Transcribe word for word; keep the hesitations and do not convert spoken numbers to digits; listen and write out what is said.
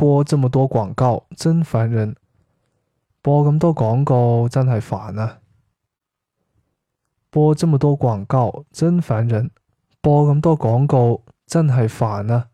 播這麼多廣告，真煩人。播咁多廣告真係煩啊！播這麼多廣告真煩人。播咁多廣告真係煩啊！